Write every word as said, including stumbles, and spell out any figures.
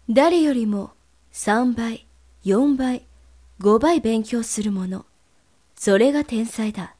誰よりもさんばい、よんばい、ごばい勉強する者、それが天才だ。